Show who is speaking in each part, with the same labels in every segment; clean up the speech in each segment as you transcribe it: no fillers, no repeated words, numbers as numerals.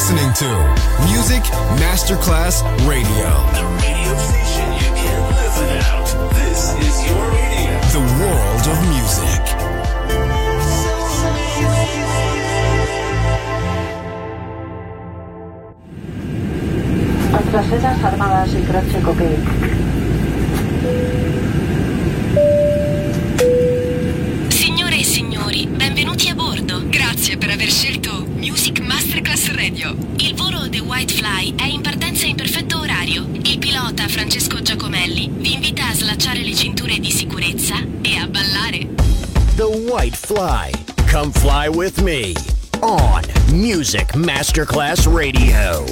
Speaker 1: listening to Music Masterclass Radio.
Speaker 2: The radio station you can't live without. This is your radio.
Speaker 1: The world of music.
Speaker 3: Nuestras fuerzas armadas y Croce Coque.
Speaker 4: Signore e signori, benvenuti a bordo. Grazie per aver scelto Music Masterclass Radio. Il volo The White Fly è in partenza in perfetto orario. Il pilota Francesco Giacomelli vi invita a slacciare le cinture di sicurezza e a ballare.
Speaker 5: The White Fly. Come fly with me on Music Masterclass Radio.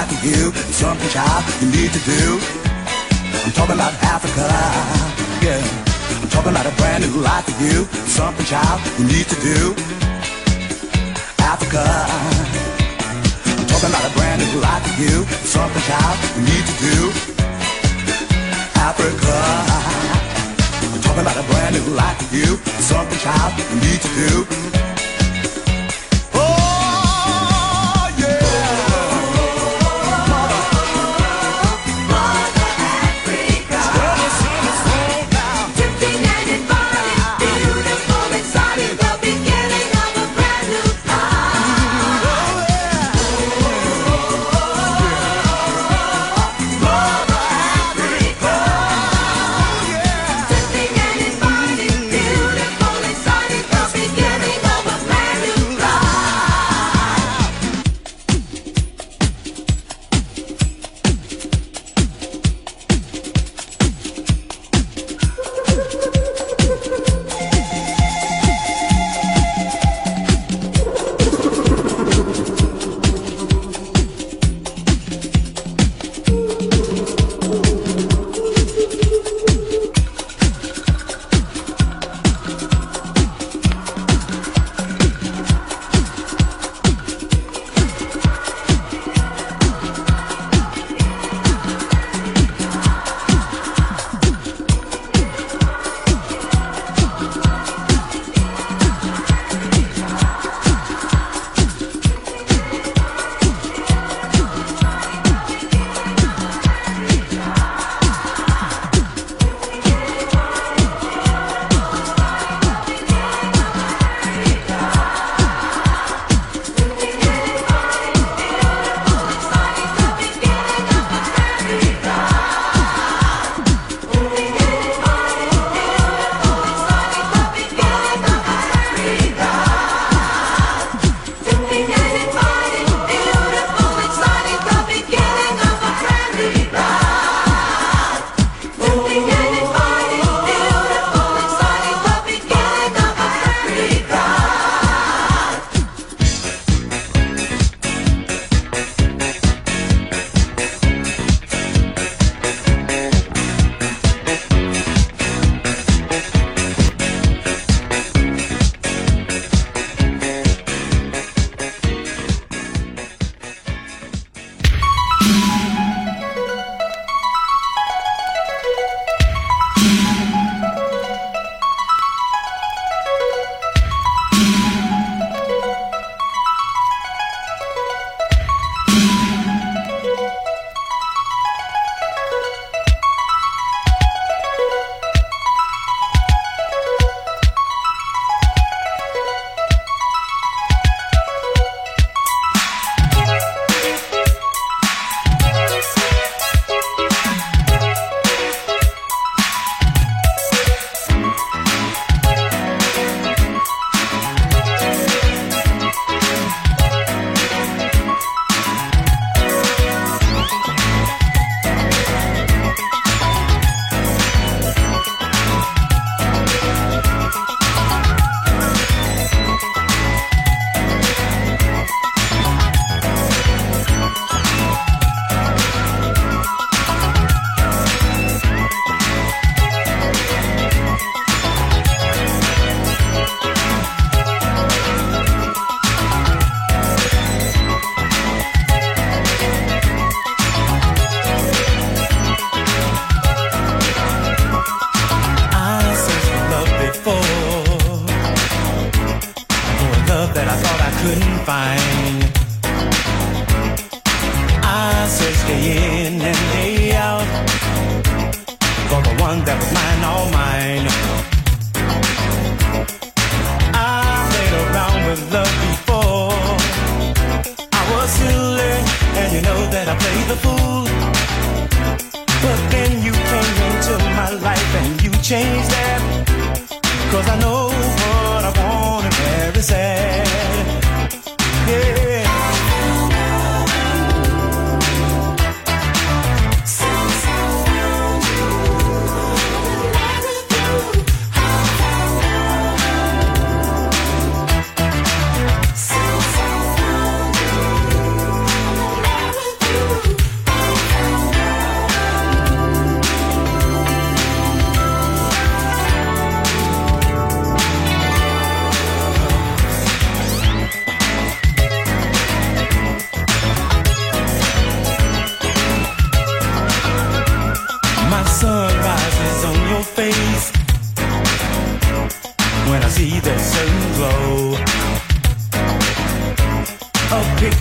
Speaker 6: like you, something, child, you need to do. I'm talking about Africa, yeah. I'm talking about a brand new life for you, something, child, you need to do. Africa, I'm talking about a brand new life for you, something, child, you need to do. Africa, I'm talking about a brand new life for you, something, child, you need to do.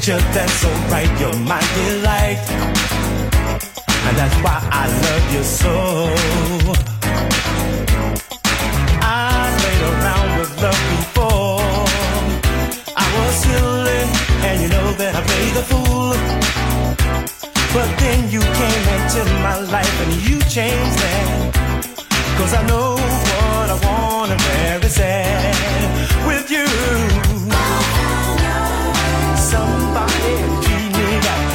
Speaker 6: picture that's so bright, you're my delight, and that's why I love you so. I played around with love before, I was silly, and you know that I played the fool. But then you came into my life and you changed that, 'cause I know what I want and where it's at with you. Somebody treat me right.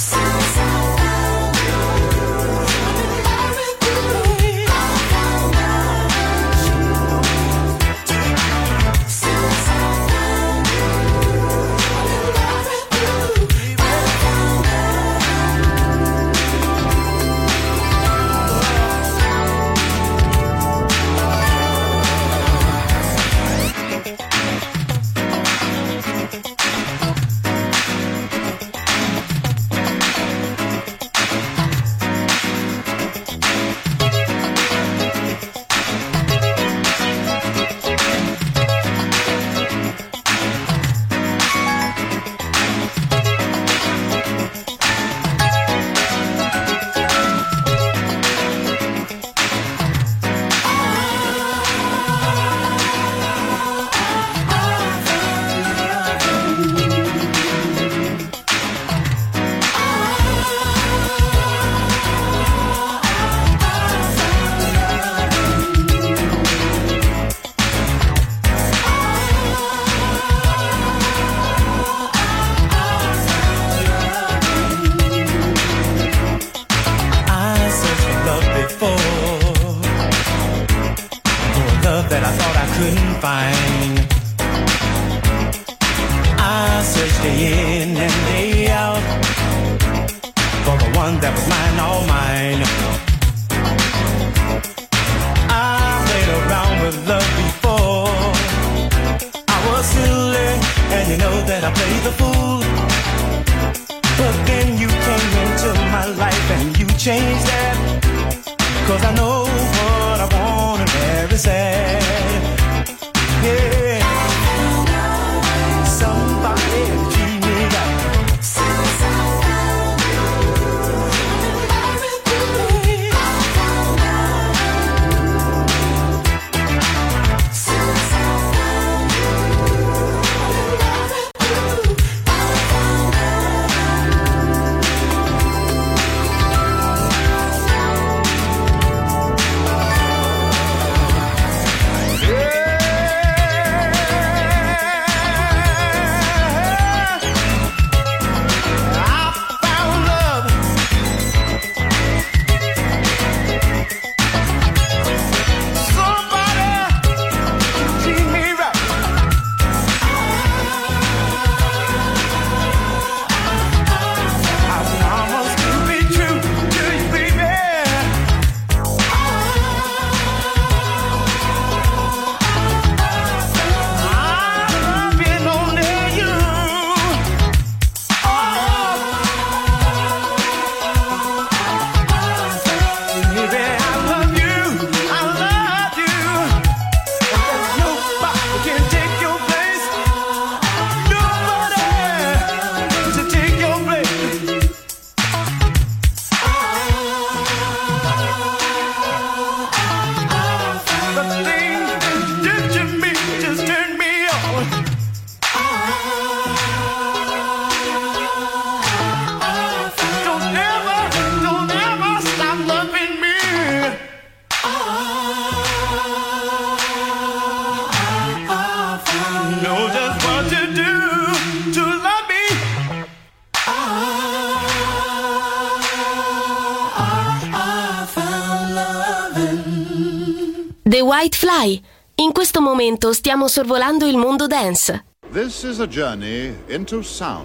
Speaker 4: The White Fly. In questo momento stiamo sorvolando il mondo dance.
Speaker 7: This is a journey into sound.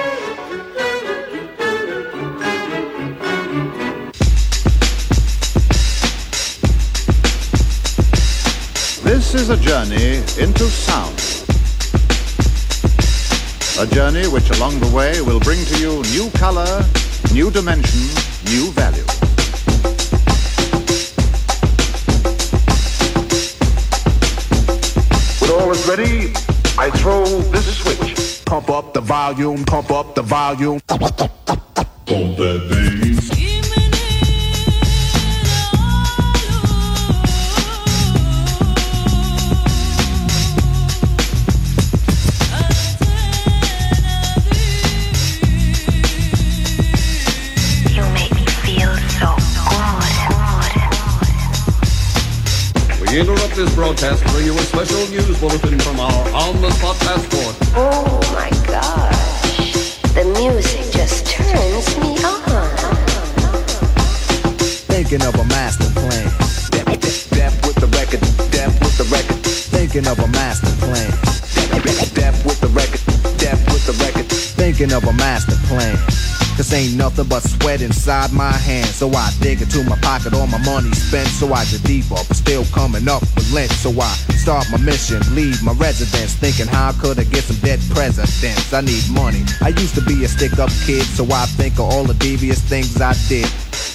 Speaker 7: This is a journey into sound. A journey which along the way will bring to you new color, new dimension, new value.
Speaker 8: When all is ready, I throw this switch. pump up the volume, pump up the volume.
Speaker 9: Pump that bass.
Speaker 10: We interrupt this broadcast to bring you a special news bulletin from our on-the-spot passport.
Speaker 11: Oh my gosh, the music just turns me on.
Speaker 12: Thinking of a master plan. Death with the record, death with the record. Thinking of a master plan. Death with the record, death with the record. Thinking of a master plan. Cause ain't nothing but sweat inside my hands. So I dig into my pocket, all my money spent. So I get deeper, but still coming up with lint. So I start my mission, leave my residence, thinking how could I get some dead presidents. I need money. I used to be a stick-up kid, so I think of all the devious things I did.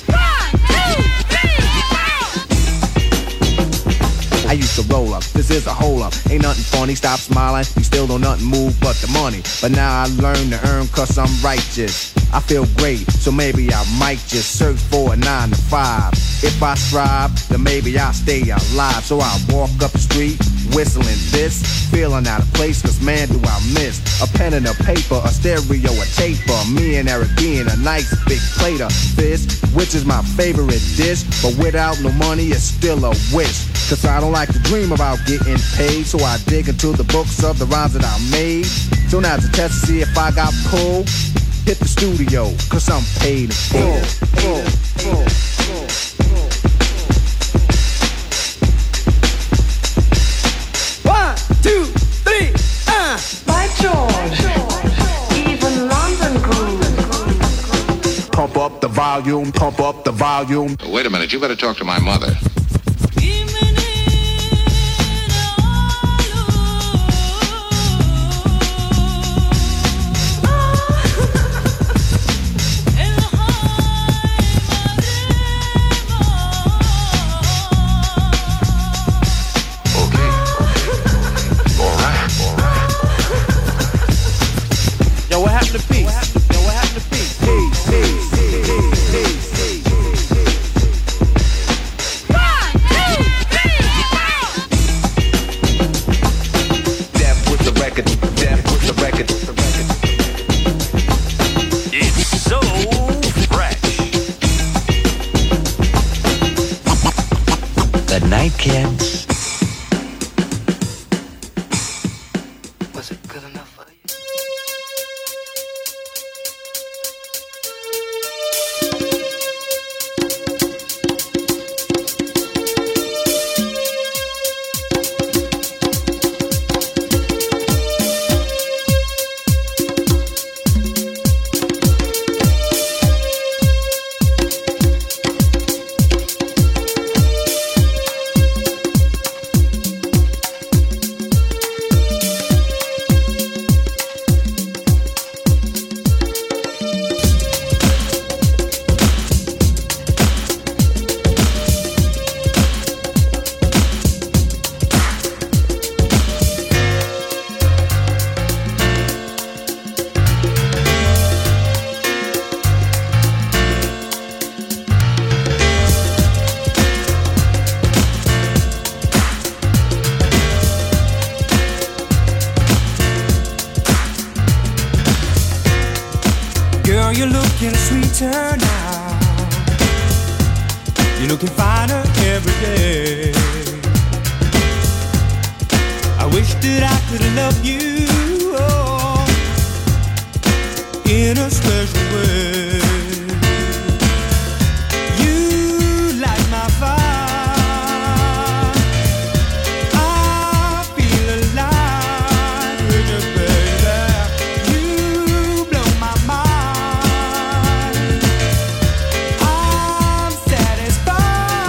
Speaker 12: I used to roll up, this is a hole up. Ain't nothing funny, stop smiling. You still don't nothing move but the money. But now I learn to earn cause I'm righteous. I feel great, so maybe I might just search for a 9 to 5. If I strive, then maybe I'll stay alive. So I walk up the street, whistling this, feeling out of place, cause man do I miss a pen and a paper, a stereo, a taper. Me and Eric being a nice big plate of fish, which is my favorite dish. But without no money, it's still a wish. Cause I don't like to dream about getting paid. So I dig into the books of the rhymes that I made. So now's a test to see if I got pulled. Hit the studio, cause I'm paid in full.
Speaker 13: One, two, three,
Speaker 3: By George, even London grooves.
Speaker 8: Pump up the volume, pump up the volume.
Speaker 14: Wait a minute, you better talk to my mother.
Speaker 15: Kids.
Speaker 13: Was it good enough for you?
Speaker 6: You're looking sweeter now. You're looking finer every day. I wish that I could love you in a special way. You light my fire. I feel alive with you, baby. You blow my mind. I'm satisfied.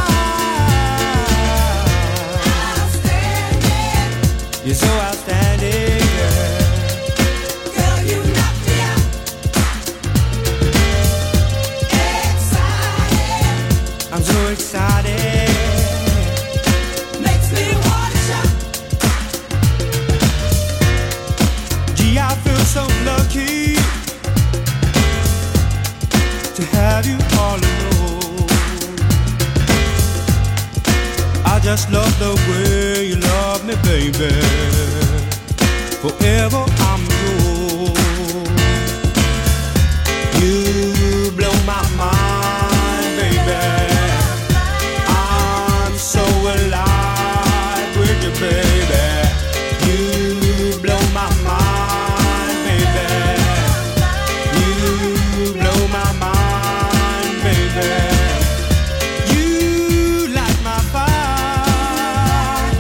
Speaker 6: Outstanding. You're so outstanding, girl. Girl, you knock me out. Excited. I'm so excited. Makes me wanna shout. Gee, I feel so have you all alone. I just love the way you love me, baby. Forever I'm yours. You blow my mind, baby. I'm so alive with you, baby. You blow my mind, baby. You blow my mind, baby. You light my fire.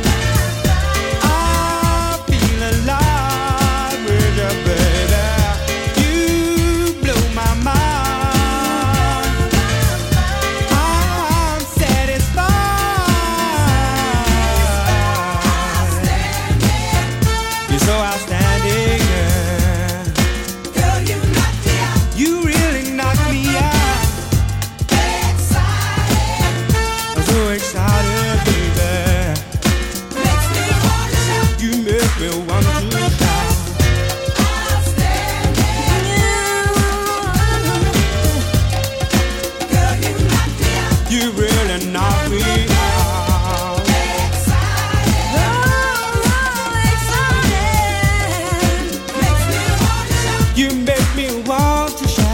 Speaker 6: I feel alive with you, baby. You blow my mind. I'm satisfied. You're so outstanding, yeah.
Speaker 15: Girl, you knock me out.
Speaker 6: You really knock me out.
Speaker 15: Excited.
Speaker 6: I'm so excited, baby.
Speaker 15: Makes me wanna shout.
Speaker 6: You make me want to shout.
Speaker 15: Outstanding. Girl, you knock me out.
Speaker 6: You really knock me out.
Speaker 15: Excited. Excited. Makes me wanna shout.
Speaker 6: You make me want to shout.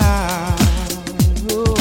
Speaker 6: Oh.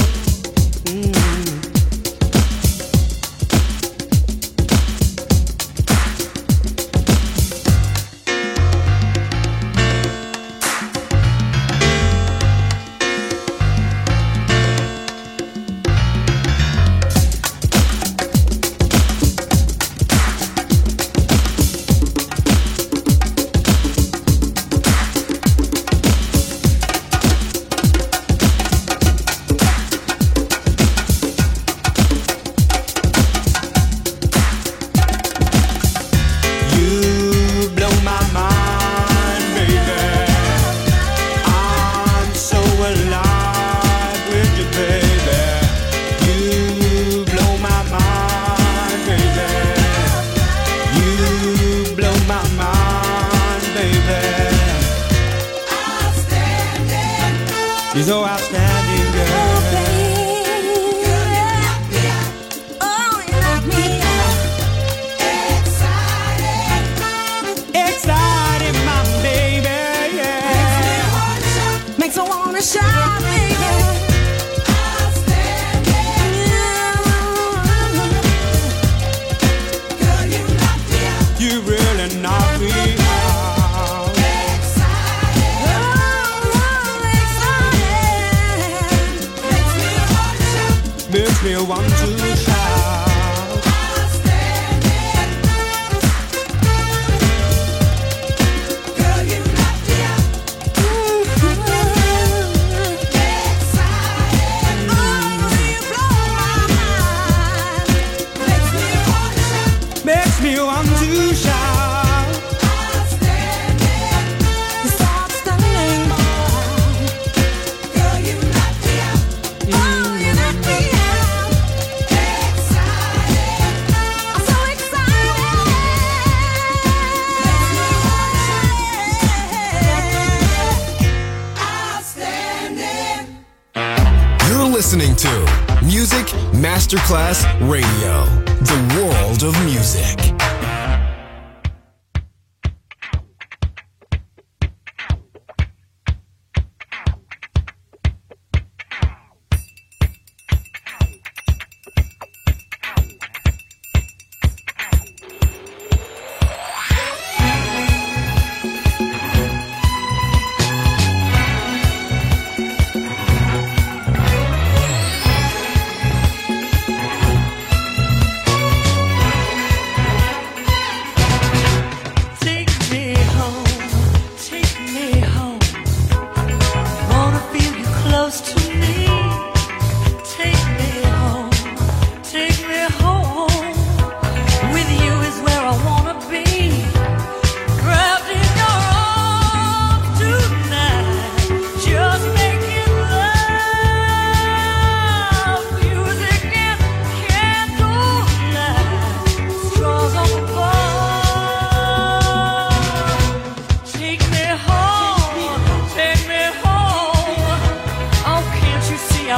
Speaker 6: You blow my mind, baby. I'm so alive with you, baby. You blow my mind, baby. You blow my mind, baby.
Speaker 15: Outstanding.
Speaker 6: You're so outstanding, girl.
Speaker 15: Girl, you knock me out. Oh, you knock me out. Excited.
Speaker 6: Exciting, my baby, yeah.
Speaker 15: Makes me wanna shout, baby. Outstanding. Girl, you knock me out.
Speaker 6: You really knock me out.
Speaker 15: Excited. Excited. Makes me wanna shout.
Speaker 6: Makes me want to shout.
Speaker 15: Outstanding. Girl, you knock me out. Excited. Oh, you blow my mind. Makes me wanna shout.
Speaker 6: Makes me want to shout.
Speaker 15: Outstanding. You're so outstanding, boy. Girl, you knock me out. Oh, you knock me out. Excited. I'm so excited. Makes me wanna shout. Outstanding.
Speaker 1: You're listening to Music Masterclass Radio, the world of music.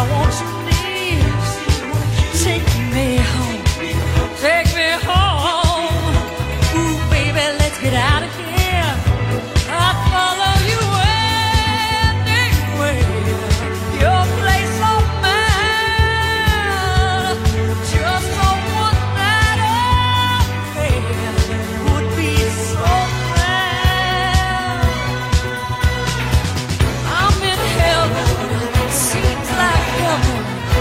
Speaker 15: want you near. Take me home. Take me home. Ooh, baby, let's get out of here. I'll follow you anywhere. Your place on mine. Just a one night affair would be so grand. I'm in heaven. Seems like heaven.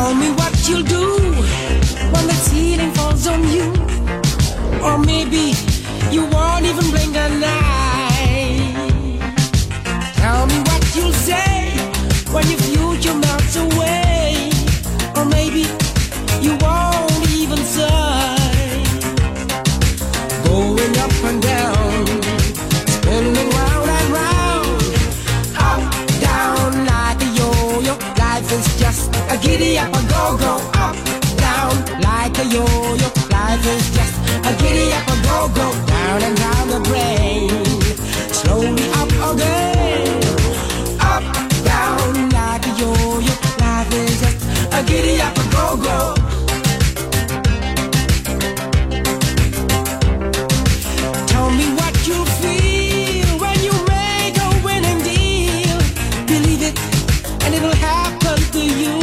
Speaker 16: Tell me what you'll do when the ceiling falls on you. Or maybe you won't even blink an eye. Tell me what you'll say when your future melts away. Or maybe you won't even sigh. Going up and down, spinning round and round, up, down like a yo-yo. Life is just a giddy up, a go-go. Up, down like a yo-yo. Life is just a giddy up, a go-go. Down and down the drain, slowly up again. Up, down like a yo-yo. Life is just a giddy up, a go-go. Tell me what you feel when you make a winning deal. Believe it, and it'll happen to you.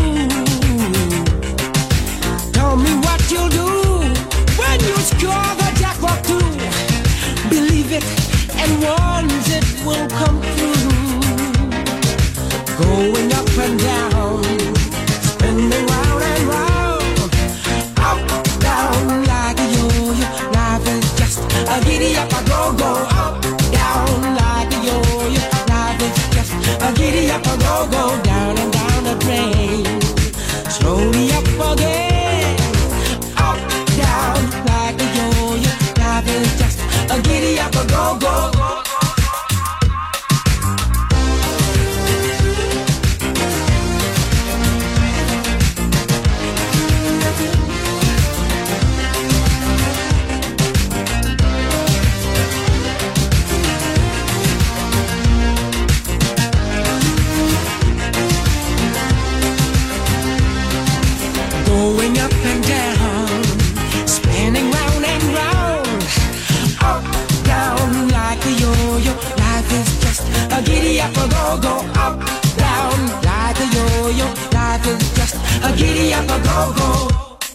Speaker 16: Tell me what you'll do when you score the jackpot too. Believe it, and once it will come true. Going up and down, spinning round and round, up, down like a yo-yo. Life is just a giddy up, a go-go. Up, down like a yo-yo. Life is just a giddy up, a go-go. Down and down the drain, slowly up again. Up, down like a yo-yo. Life is just a giddy up, a go-go. Going up and down, spinning round and round, up, down like a yo-yo. Life is just a giddy up, a go-go. Up, down like a yo-yo. Life is just a giddy up, a go-go.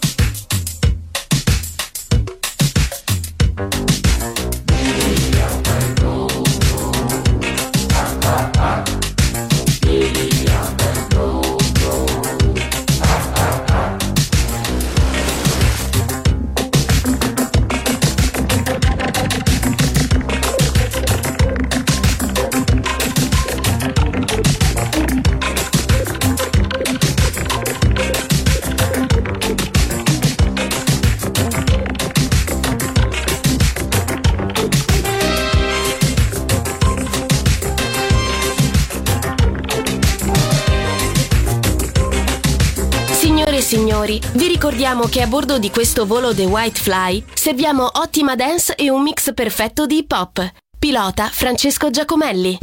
Speaker 4: Signori, vi ricordiamo che a bordo di questo volo The White Fly serviamo ottima dance e un mix perfetto di hip hop. Pilota Francesco Giacomelli.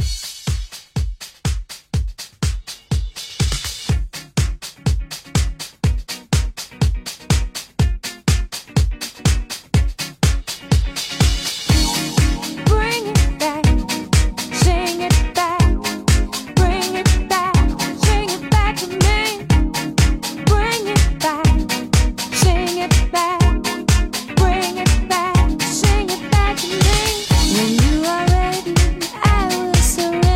Speaker 15: When you are ready, I will surrender.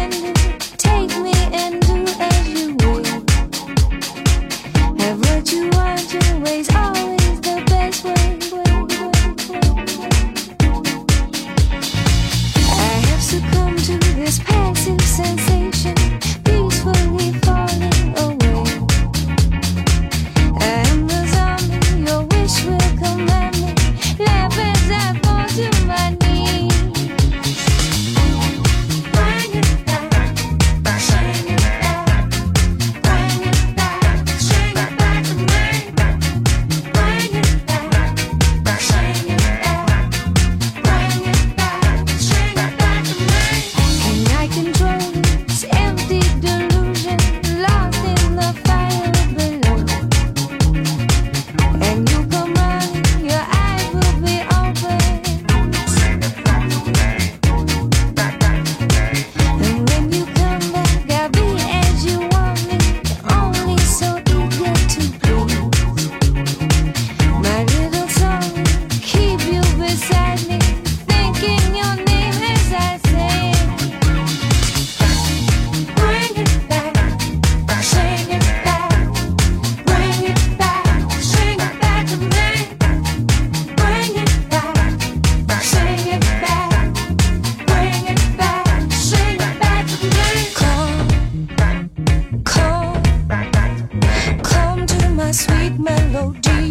Speaker 15: my sweet melody.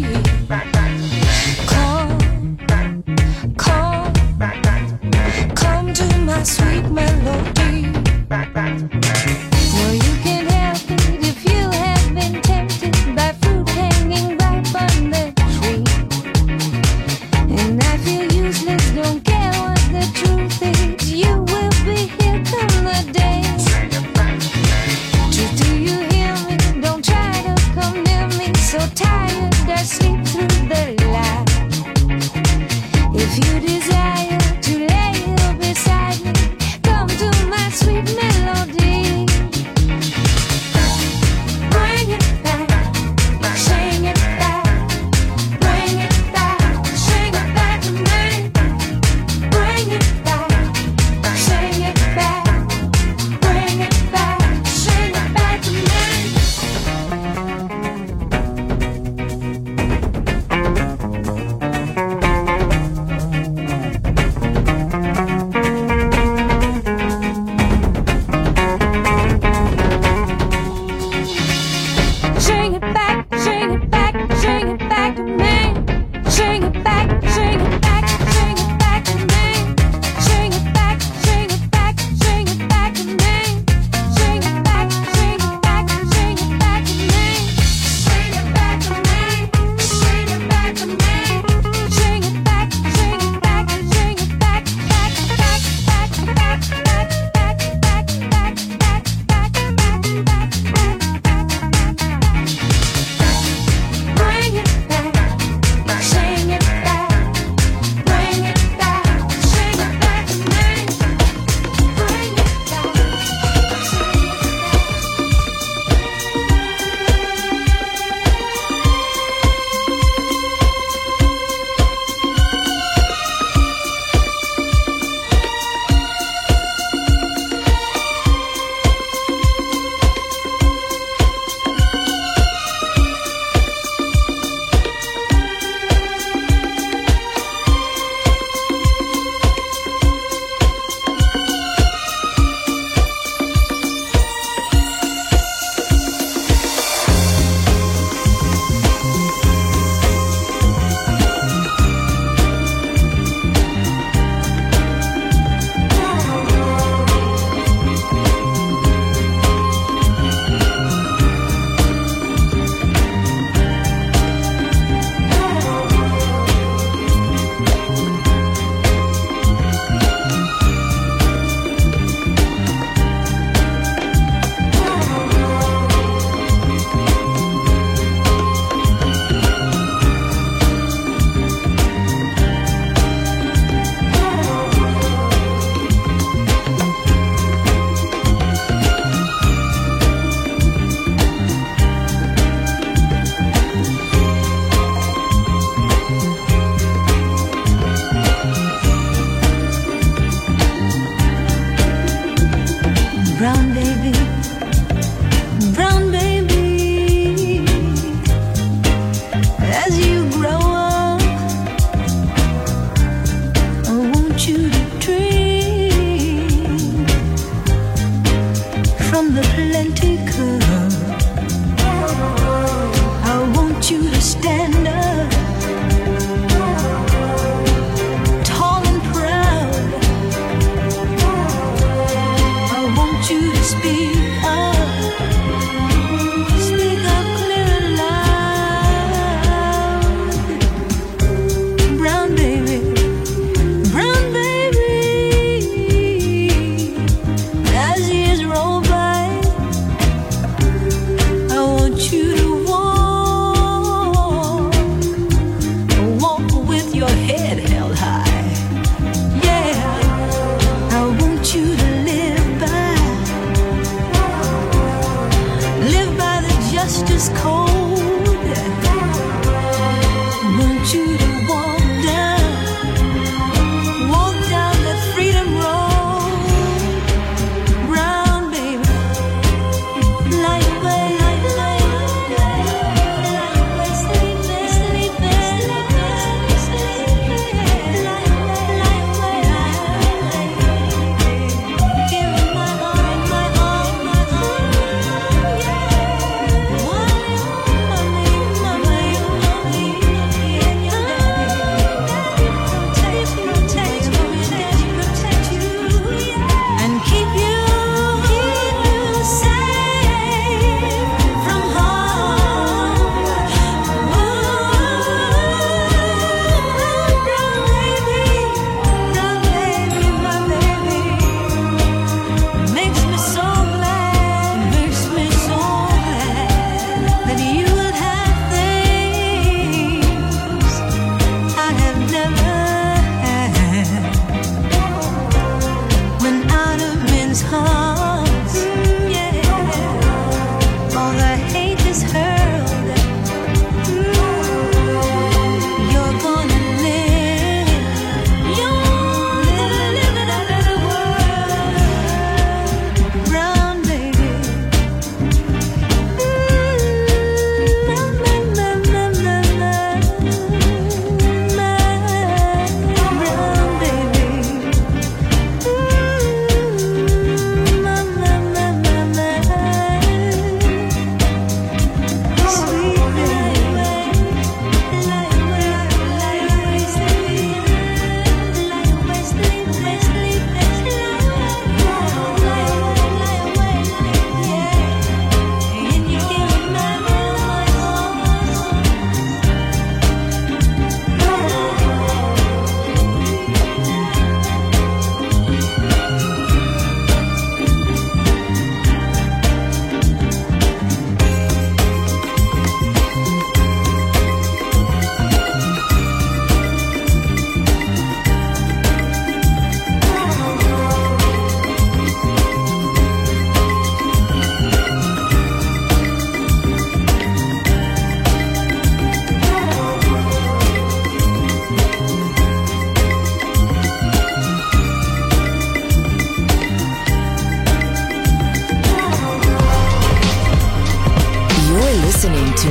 Speaker 15: Come to my sweet melody. No, you can't help it if you have been tempted by fruit hanging ripe on the tree. And I feel useless, don't care what the truth is. You will be here come the day. Do you hear me? Don't try to come near me. So tired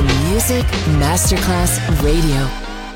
Speaker 17: Music Masterclass Radio.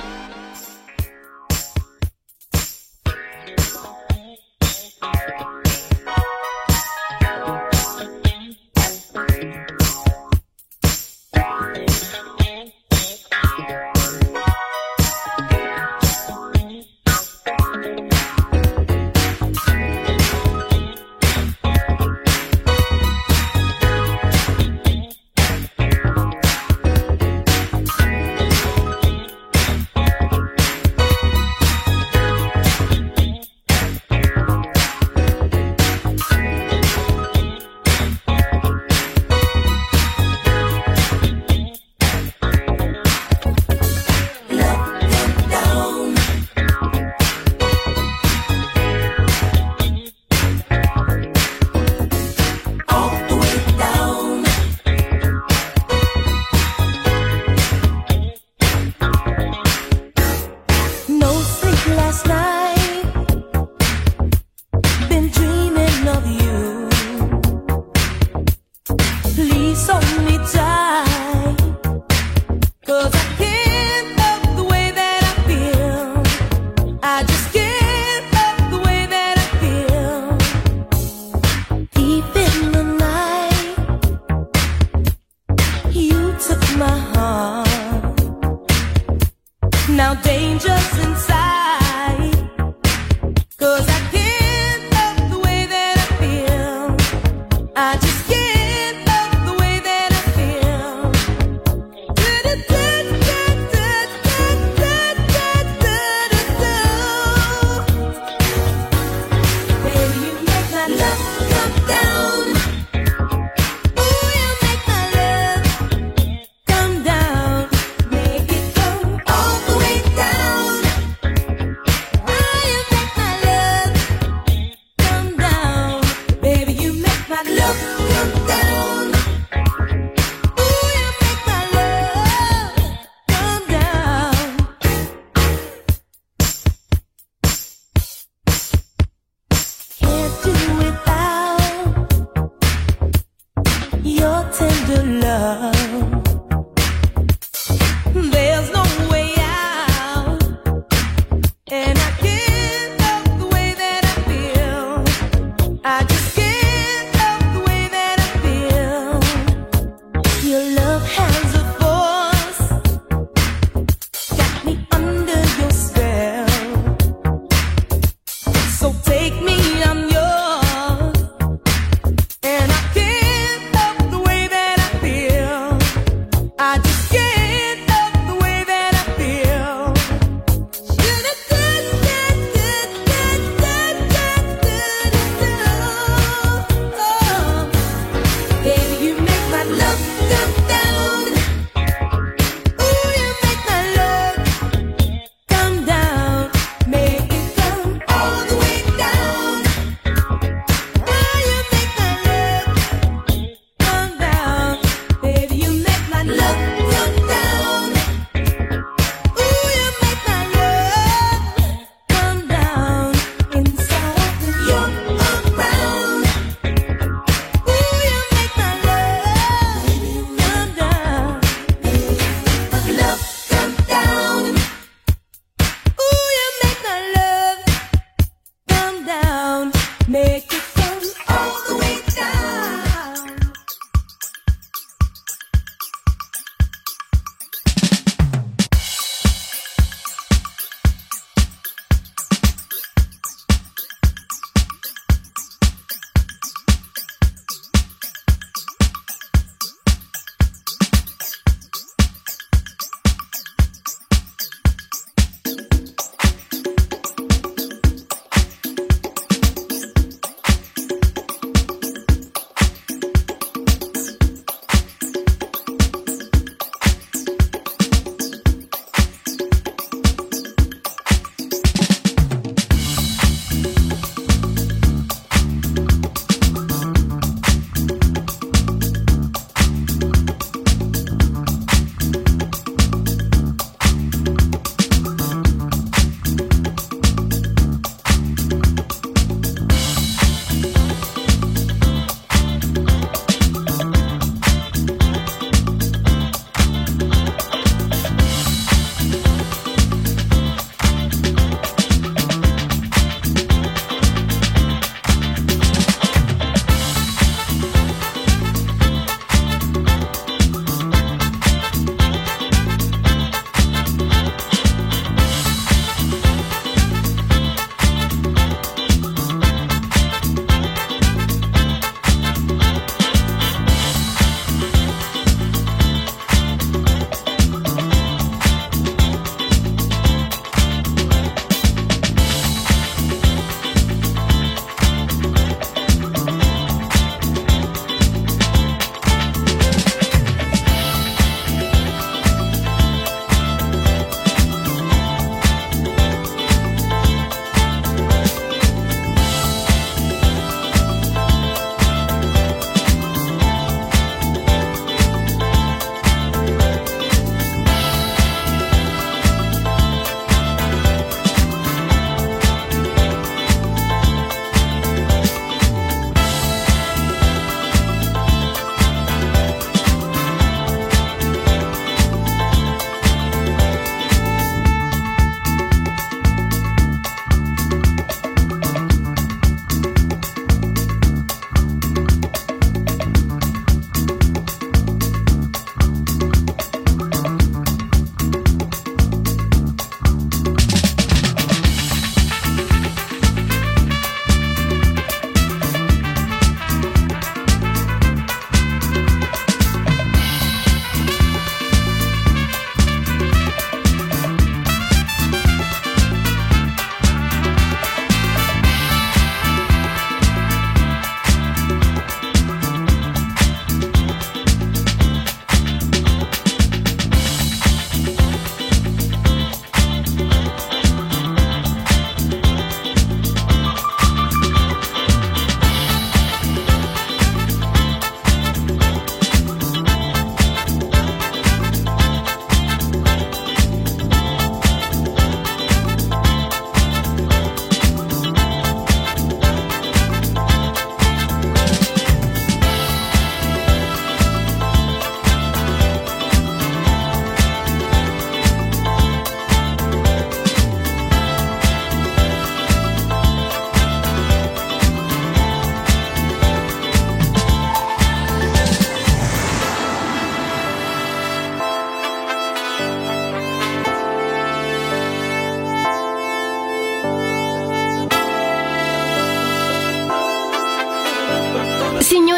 Speaker 18: Now danger's inside, 'cause I can't love the way that I feel. I just can't love the way that I feel.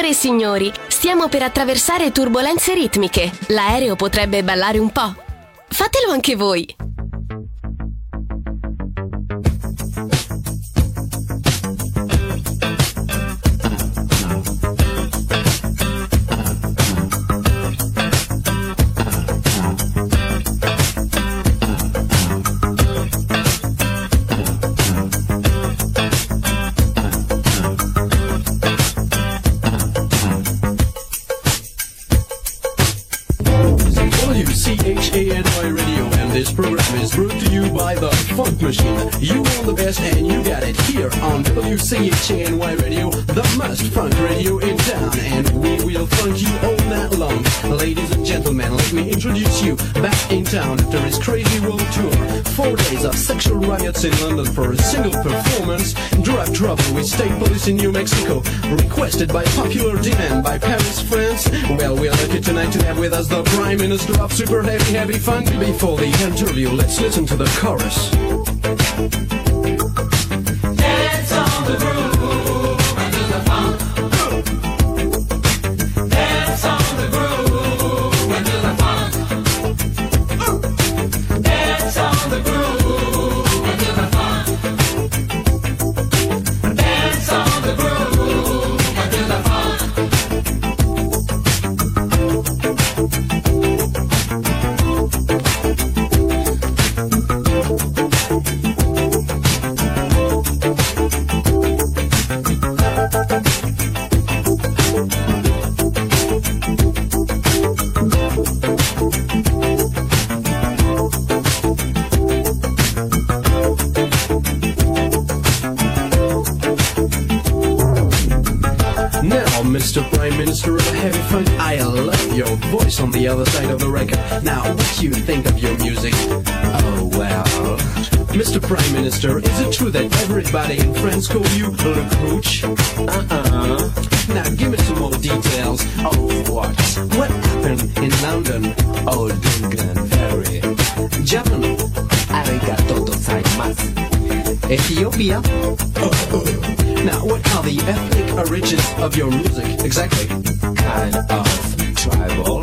Speaker 4: Signore e signori, stiamo per attraversare turbolenze ritmiche. L'aereo potrebbe ballare un po'. Fatelo anche voi.
Speaker 19: WCHANY Radio, and this program is brought to you by the Funk Machine. You want the best and you got it here on WCHANY Radio, the most funk radio in town, and we will funk you all night long. Ladies and gentlemen, let me introduce you back in town after his crazy world tour. 4 days of sexual riots in London for a single performance, drug trouble with state police in New Mexico, requested by popular demand by Paris, France. Well, we're lucky tonight to have with us the Prime Minister of Super Heavy Funk. Before the interview, let's listen to the chorus.
Speaker 2: Dance on the groove until the funk. Dance on the groove until the funk. Dance on the groove until the funk. Dance on the groove until the funk.
Speaker 19: Mr. Prime Minister of Heavy Funk, I love your voice on the other side of the record. Now, what do you think of your music? Oh, well... Mr. Prime Minister, is it true that everybody in France call you Le Cooch? Now, give me some more details. Oh, what? What happened in London?
Speaker 20: Oh, Dungan Ferry.
Speaker 19: Japan.
Speaker 20: Arigato gozaimasu.
Speaker 19: Ethiopia. Now, what are the ethnic origins of your music, exactly?
Speaker 20: Kind of tribal.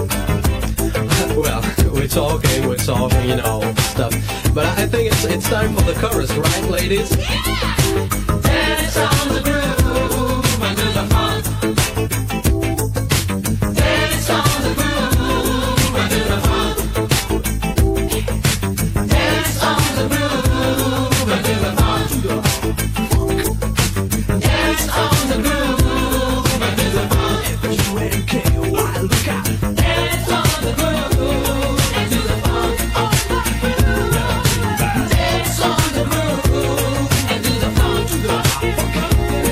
Speaker 19: Well, we're talking, you know, stuff. But I think it's time for the chorus, right, ladies?
Speaker 2: Dance on the groove until the funk. Dance on the groove until the funk. Dance on the groove until the funk. Dance on the groove until the funk.
Speaker 19: F-U-N-K-Y, look out.
Speaker 2: Dance on the groove until the funk. Dance on the groove until the funk.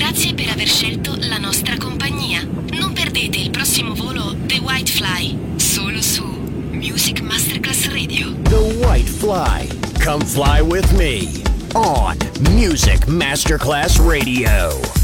Speaker 4: Grazie per aver scelto la nostra compagnia. Non perdete il prossimo volo The White Fly, solo su Music Masterclass Radio.
Speaker 5: The White Fly. Come fly with me on Music Masterclass Radio.